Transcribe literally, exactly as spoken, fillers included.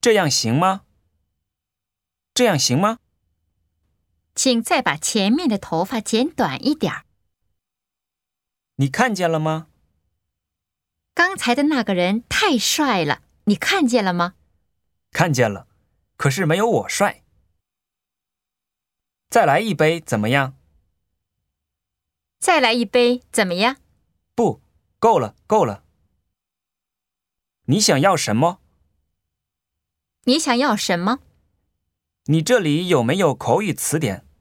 这样行吗？这样行吗？ 请再把前面的头发剪短一点儿。 你看见了吗？ 刚才的那个人太帅了，你看见了吗？ 看见了，可是没有我帅。再来一杯怎么样？ 再来一杯怎么样？ 不，够了，够了。你想要什么？ 你想要什么？ 你这里有没有口语词典？